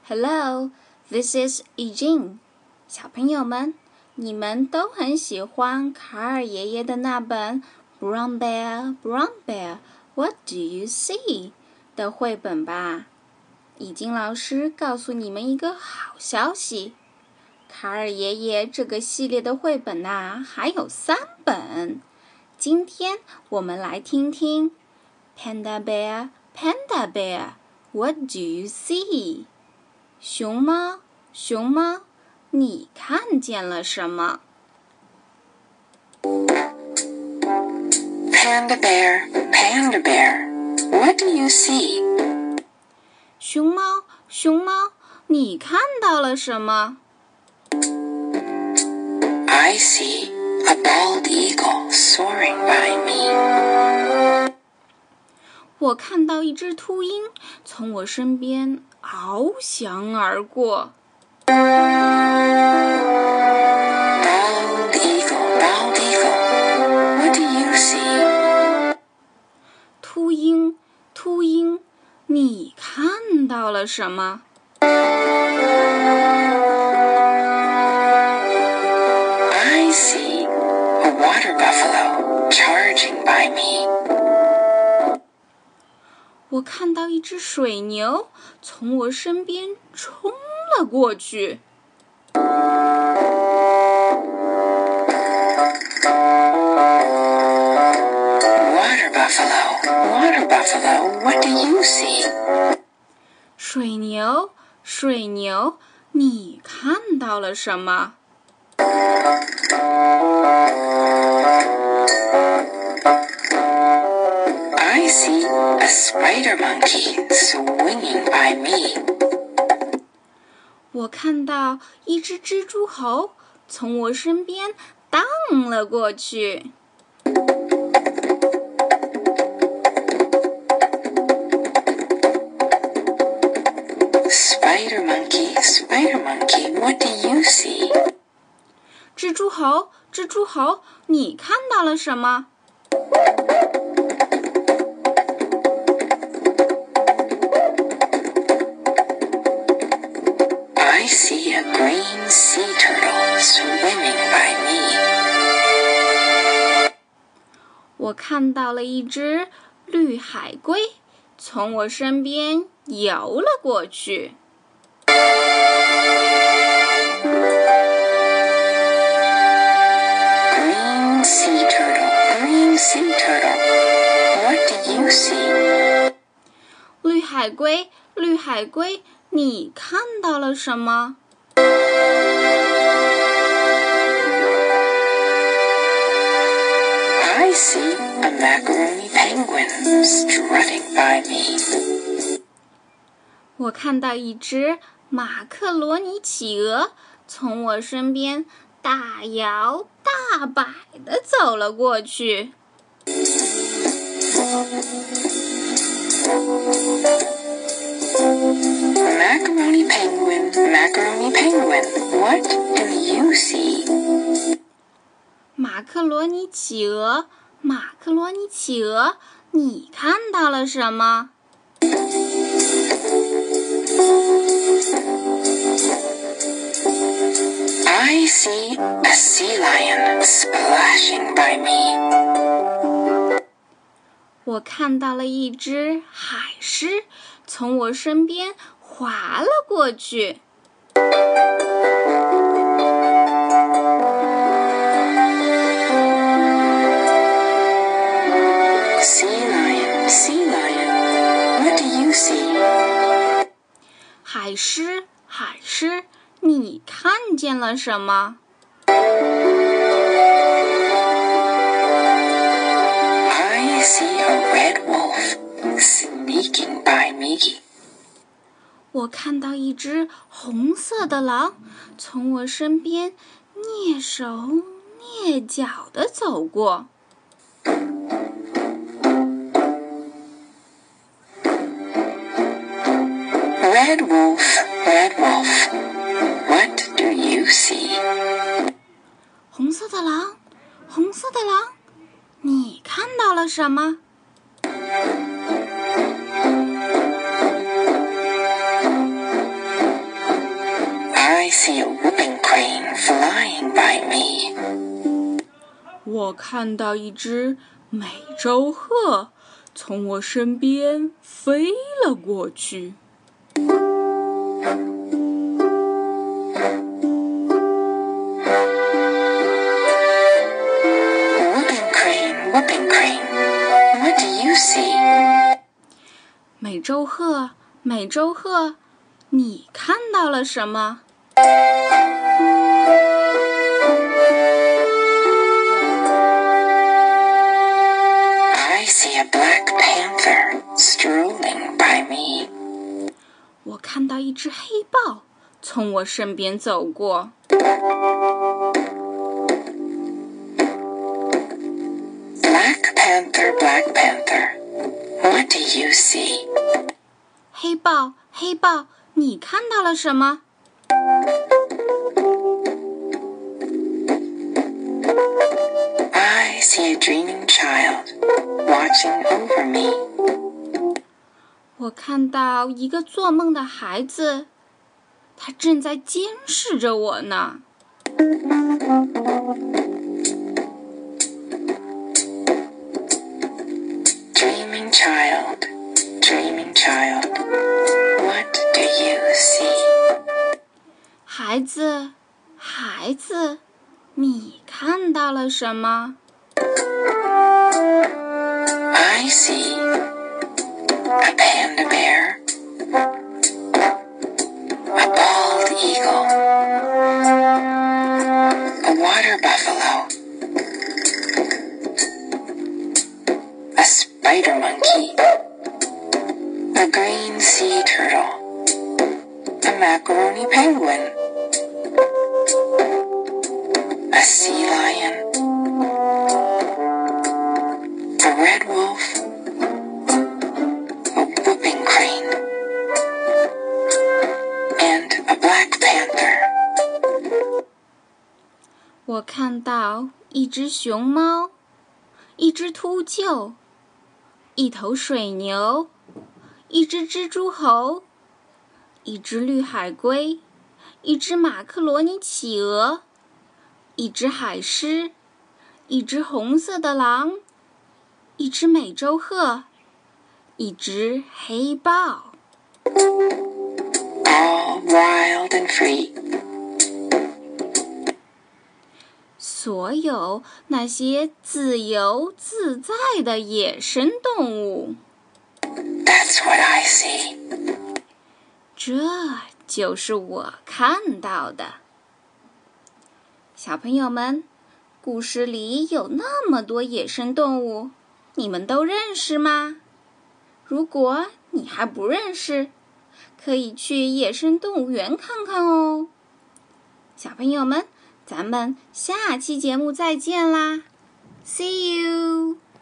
Hello, this is Eugene. 小朋友们，你们都很喜欢卡尔爷爷的那本 Brown Bear, Brown Bear, What do you see? 的绘本吧？已经老师告诉你们一个好消息，卡尔爷爷这个系列的绘本还有3本。今天我们来听听 Panda Bear, Panda Bear, What do you see? 熊猫，熊猫，你看见了什么？ Panda Bear, Panda Bear, what do you see? 熊猫，熊猫，你看到了什么？ I see a bald eagle soaring by me. 我看到一只秃鹰从我身边翱翔而过。 Bald eagle, bald eagle, what do you see? 秃鹰，秃鹰，你看到了什么？ I see a water buffalo charging by me. 我看到一只水牛从我身边冲了过去。 Water buffalo, what do you see? 水牛，水牛，你看到了什么？ I see a spider monkey swinging by me. 我看到一只蜘蛛猴从我身边荡了过去。 Spider monkey, what do you see? 蜘蛛猴，蜘蛛猴，你看到了什么？ I see a green sea turtle swimming by me. 我看到了一只绿海龟从我身边游了过去。 Green sea turtle, what do you see? 绿海龟，绿海龟，你看到了什么？ I see a macaroni penguin strutting by me. 我看到一只马克罗尼企鹅从我身边大摇大摆地走了过去。 Macaroni penguin, what do you see? 马克罗尼企鹅，马克罗尼企鹅，你看到了什么？ I see a sea lion splashing by me. 我看到了一只海狮从我身边滑了过去。 Sea lion, what do you see? 海狮，海狮，你看见了什么？ I see a red wolf sneaking by me. 我看到一只红色的狼从我身边蹑手蹑脚地走过。 Red wolf, what do you see? 红色的狼，红色的狼，你看到了什么？ 我看到一只美洲鹤从我身边飞了过去。 Whooping crane, what do you see? 美洲鹤，美洲鹤，你看到了什么？ I see a black panther strolling by me. 我看到一只黑豹从我身边走过。 Black panther, what do you see? 黑豹，黑豹，你看到了什么？ I see a dreaming child watching over me. 我看到一个做梦的孩子，他正在监视着我呢。 Dreaming child, what do you see? 孩子，孩子，你看到了什么？ I see a panda bear, a bald eagle, a water buffalo, a spider monkey.A green sea turtle, a macaroni penguin, a sea lion, a red wolf, a whooping crane, and a black panther. 我看到一只熊猫，一只秃鹫，一头水牛，一只蜘蛛猴，一只绿海龟，一只马克罗尼企鹅，一只海狮，一只红色的狼，一只美洲鹤，一只黑豹。 All wild and free. 所有那些自由自在的野生动物。 That's what I see. 这就是我看到的。小朋友们，故事里有那么多野生动物，你们都认识吗？如果你还不认识，可以去野生动物园看看哦。小朋友们，咱们下期节目再见啦 ！See you!